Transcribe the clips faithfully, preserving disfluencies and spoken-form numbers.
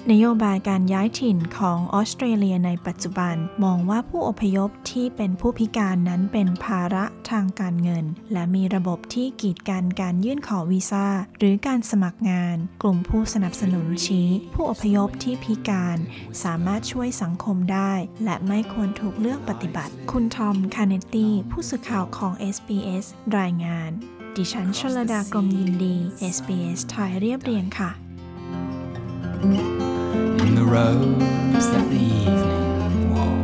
นโยบายการย้ายถิ่นของออสเตรเลียในปัจจุบันมองว่าผู้อพยพที่เป็นผู้พิการนั้นเป็นภาระทางการเงินและมีระบบที่กีดกันการยื่นขอวีซ่าหรือการสมัครงานกลุ่มผู้สนับสนุนชี้ผู้อพยพที่พิการสามารถช่วยสังคมได้และไม่ควรถูกเลือกปฏิบัติคุณทอมคาเนตตี้ผู้สื่อข่าวของ เอส บี เอส รายงานดิฉันชลดากรมยินดี เอส บี เอส ไทยเรียบเรียงค่ะ In the robes that the evening wore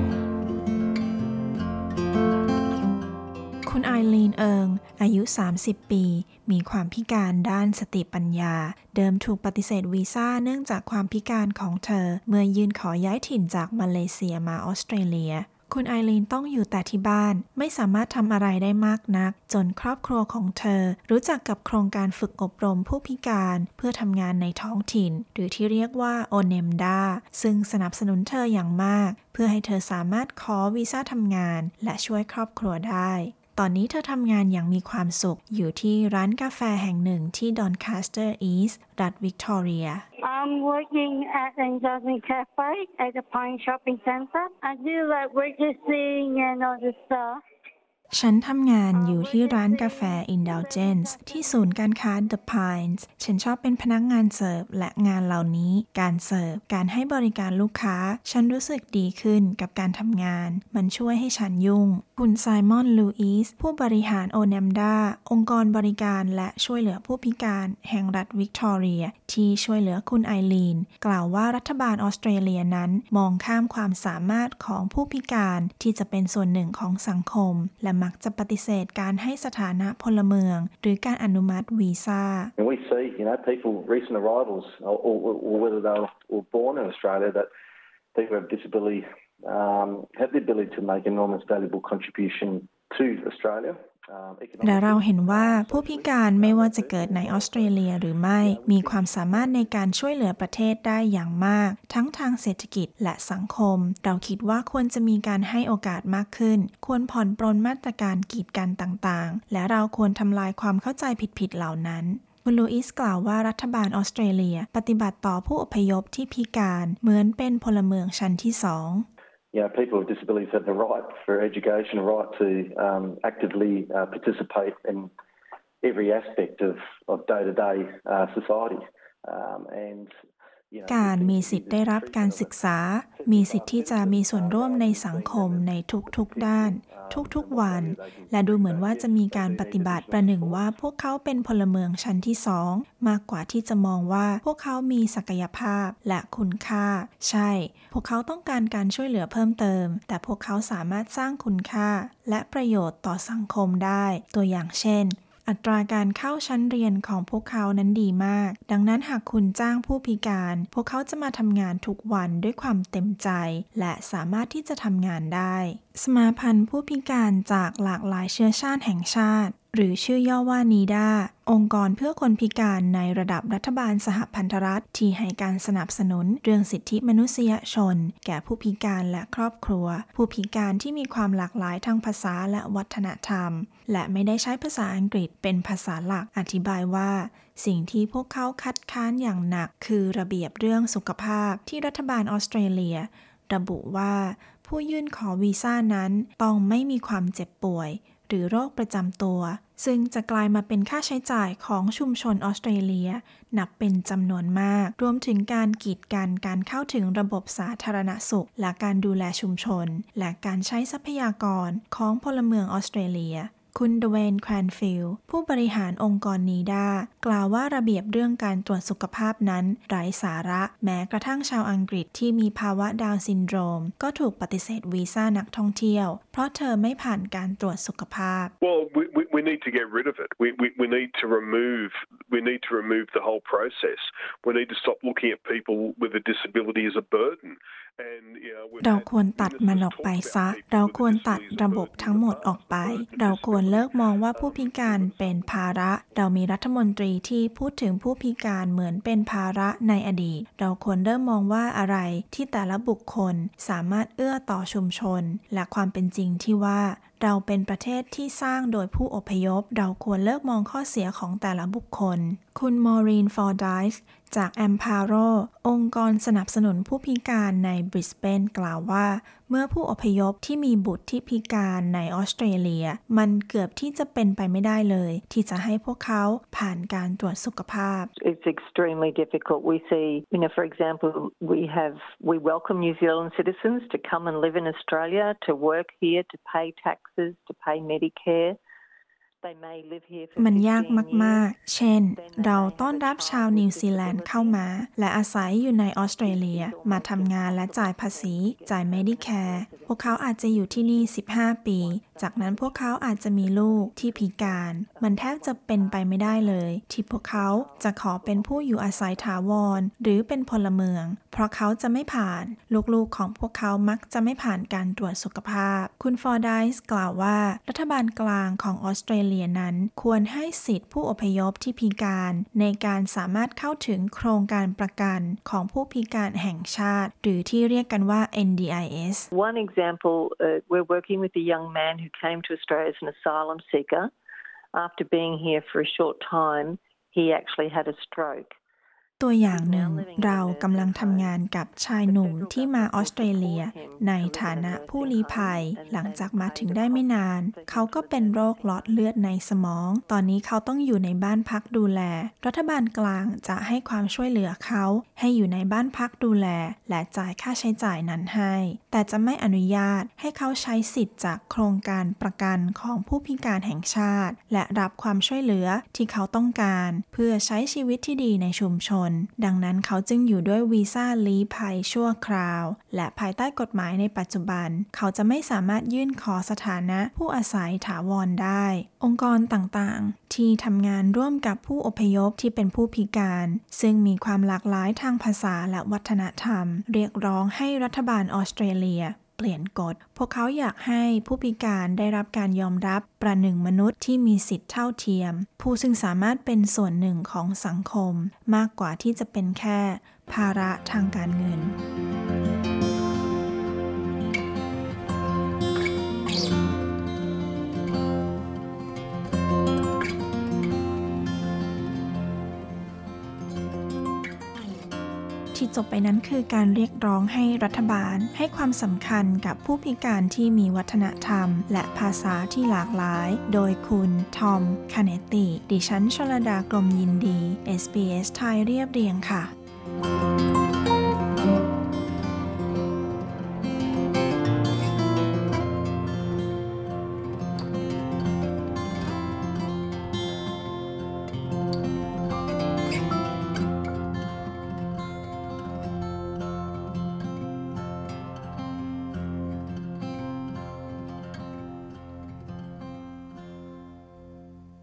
คุณไอลีนเอิงอายุสามสิบปีมีความพิการด้านสติปัญญาเดิมถูกปฏิเสธวีซ่าเนื่องจากความพิการของเธอเมื่อยื่นขอย้ายถิ่นจากมาเลเซียมาออสเตรเลียคุณไอลีนต้องอยู่แต่ที่บ้านไม่สามารถทำอะไรได้มากนักจนครอบครัวของเธอรู้จักกับโครงการฝึกอบรมผู้พิการเพื่อทำงานในท้องถิ่นหรือที่เรียกว่า โอ เอ็น อี เอ็ม ดี เอ ซึ่งสนับสนุนเธออย่างมากเพื่อให้เธอสามารถขอวีซ่าทำงานและช่วยครอบครัวได้ตอนนี้เธอทำงานอย่างมีความสุขอยู่ที่ร้านกาแฟแห่งหนึ่งที่ Doncaster East รัฐวิกตอเรีย I'm working at Enjoyment Cafe at the Pine Shopping Centre. I do like waitressing and all the stuff. ฉันทำงานอยู่ที่ร้านกาแฟ Indulgence ที่ศูนย์การค้า The Pines ฉันชอบเป็นพนักงานเสิร์ฟและงานเหล่านี้การเสิร์ฟการให้บริการลูกค้าฉันรู้สึกดีขึ้นกับการทำงานมันช่วยให้ฉันยุ่งคุณไซมอนลูอิสผู้บริหาร โอ เอ็น อี เอ็ม ดี เอ องค์กรบริการและช่วยเหลือผู้พิการแห่งรัฐวิกตอเรียที่ช่วยเหลือคุณไอลีนกล่าวว่ารัฐบาลออสเตรเลียนั้นมองข้ามความสามารถของผู้พิการที่จะเป็นส่วนหนึ่งของสังคมและมักจะปฏิเสธการให้สถานะพลเมืองหรือการอนุมัติวีซ่า And we see, you know, people, recent arrivals, or, or, or whether they were born in Australia, that people with disability um, have the ability to make enormous valuable contribution to Australia. และเราเห็นว่าผู้พิการไม่ว่าจะเกิดในออสเตรเลียหรือไม่มีความสามารถในการช่วยเหลือประเทศได้อย่างมากทั้งทางเศรษฐกิจและสังคมเราคิดว่าควรจะมีการให้โอกาสมากขึ้นควรผ่อนปรนมาตรการกีดกันต่างๆและเราควรทำลายความเข้าใจผิดๆเหล่านั้นคุณลูอิสกล่าวว่ารัฐบาลออสเตรเลียปฏิบัติต่อผู้อพยพที่พิการเหมือนเป็นพลเมืองชั้นที่สอง You know, people with disabilities have the right for education, a right to um, actively uh, participate in every aspect of, of day-to-day uh, society. Um, and การมีสิทธิ์ได้รับการศึกษามีสิทธิ์ที่จะมีส่วนร่วมในสังคมในทุกๆด้านทุกๆวันและดูเหมือนว่าจะมีการปฏิบัติประหนึ่งว่าพวกเขาเป็นพลเมืองชั้นที่สองมากกว่าที่จะมองว่าพวกเขามีศักยภาพและคุณค่าใช่พวกเขาต้องการการช่วยเหลือเพิ่มเติมแต่พวกเขาสามารถสร้างคุณค่าและประโยชน์ต่อสังคมได้ตัวอย่างเช่นอัตราการเข้าชั้นเรียนของพวกเขานั้นดีมากดังนั้นหากคุณจ้างผู้พิการพวกเขาจะมาทำงานทุกวันด้วยความเต็มใจและสามารถที่จะทำงานได้สมาพันธ์ผู้พิการจากหลากหลายเชื้อชาติแห่งชาติหรือชื่อย่อว่านีดาองค์กรเพื่อคนพิการในระดับรัฐบาลสหพันธรัฐที่ให้การสนับสนุนเรื่องสิทธิมนุษยชนแก่ผู้พิการและครอบครัวผู้พิการที่มีความหลากหลายทางภาษาและวัฒนธรรมและไม่ได้ใช้ภาษาอังกฤษเป็นภาษาหลักอธิบายว่าสิ่งที่พวกเขาคัดค้านอย่างหนักคือระเบียบเรื่องสุขภาพที่รัฐบาลออสเตรเลียระบุว่าผู้ยื่นขอวีซ่านั้นต้องไม่มีความเจ็บป่วยหรือโรคประจำตัวซึ่งจะกลายมาเป็นค่าใช้จ่ายของชุมชนออสเตรเลียนับเป็นจำนวนมากรวมถึงการกีดกันการเข้าถึงระบบสาธารณสุขและการดูแลชุมชนและการใช้ทรัพยากรของพลเมืองออสเตรเลียคุณเดเวนแควนฟิลด์ผู้บริหารองค์กรนีดากล่าวว่าระเบียบเรื่องการตรวจสุขภาพนั้นไร้สาระแม้กระทั่งชาวอังกฤษที่มีภาวะดาวน์ซินโดรมก็ถูกปฏิเสธวีซ่านักท่องเที่ยวเพราะเธอไม่ผ่านการตรวจสุขภาพ Well, we, we, we need to get rid of it. We, we, we need to remove we need to remove the whole process. We need to stop looking at people with a disability as a burden. เราควรตัดมันออกไปซะเราควรตัดระบบทั้งหมดออกไปเราควรเลิกมองว่าผู้พิการเป็นภาระเรามีรัฐมนตรีที่พูดถึงผู้พิการเหมือนเป็นภาระในอดีตเราควรเริ่มมองว่าอะไรที่แต่ละบุคคลสามารถเอื้อต่อชุมชนและความเป็นจริงที่ว่าเราเป็นประเทศที่สร้างโดยผู้อพยพเราควรเลิกมองข้อเสียของแต่ละบุคคลคุณมอรีนฟอร์ไดส์จาก Amparo องค์กรสนับสนุนผู้พิการในบริสเบนกล่าวว่าเมื่อผู้อพยพที่มีบุตรที่พิการในออสเตรเลียมันเกือบที่จะเป็นไปไม่ได้เลยที่จะให้พวกเขาผ่านการตรวจสุขภาพ It's extremely difficult. We see, you know, for example, we have we welcome New Zealand citizens to come and live in Australia, to work here, to pay taxes, to pay Medicare. มันยากมากๆเช่นเราต้อนรับชาวนิวซีแลนด์เข้ามาและอาศัยอยู่ในออสเตรเลียมาทำงานและจ่ายภาษีจ่าย Medicare พวกเขาอาจจะอยู่ที่นี่สิบห้าปีจากนั้นพวกเขาอาจจะมีลูกที่พิการมันแทบจะเป็นไปไม่ได้เลยที่พวกเขาจะขอเป็นผู้อยู่อาศัยถาวรหรือเป็นพลเมืองเพราะเขาจะไม่ผ่านลูกๆของพวกเขามักจะไม่ผ่านการตรวจสุขภาพคุณฟอร์ไดส์กล่าวว่ารัฐบาลกลางของออสเตรเลียนั้นควรให้สิทธิผู้อพยพที่พิการในการสามารถเข้าถึงโครงการประกันของผู้พิการแห่งชาติหรือที่เรียกกันว่า เอ็น ดี ไอ เอส One example, uh, we're working with a young man who came to Australia as an asylum seeker. After being here for a short time, he actually had a stroke. ตัวอย่างหนึ่งเรากำลังทำงานกับชายหนุ่มที่มาออสเตรเลียในฐานะผู้ลี้ภัยหลังจากมาถึงได้ไม่นานเขาก็เป็นโรคหลอดเลือดในสมองตอนนี้เขาต้องอยู่ในบ้านพักดูแลรัฐบาลกลางจะให้ความช่วยเหลือเขาให้อยู่ในบ้านพักดูแลและจ่ายค่าใช้จ่ายนั้นให้แต่จะไม่อนุญาตให้เขาใช้สิทธิ์จากโครงการประกันของผู้พิการแห่งชาติและรับความช่วยเหลือที่เขาต้องการเพื่อใช้ชีวิตที่ดีในชุมชนดังนั้นเขาจึงอยู่ด้วยวีซ่าลี้ภัยชั่วคราวและภายใต้กฎหมายในปัจจุบันเขาจะไม่สามารถยื่นขอสถานะผู้อาศัยถาวรได้องค์กรต่างๆที่ทำงานร่วมกับผู้อพยพที่เป็นผู้พิการซึ่งมีความหลากหลายทางภาษาและวัฒนธรรมเรียกร้องให้รัฐบาลออสเตรเลียเปลี่ยนกฎพวกเขาอยากให้ผู้พิการได้รับการยอมรับประหนึ่งมนุษย์ที่มีสิทธิเท่าเทียมผู้ซึ่งสามารถเป็นส่วนหนึ่งของสังคมมากกว่าที่จะเป็นแค่ภาระทางการเงินที่จบไปนั้นคือการเรียกร้องให้รัฐบาลให้ความสำคัญกับผู้พิการที่มีวัฒนธรรมและภาษาที่หลากหลายโดยคุณทอมคาเนตติดิฉันชลดากรมยินดี เอส บี เอส ไทยเรียบเรียงค่ะ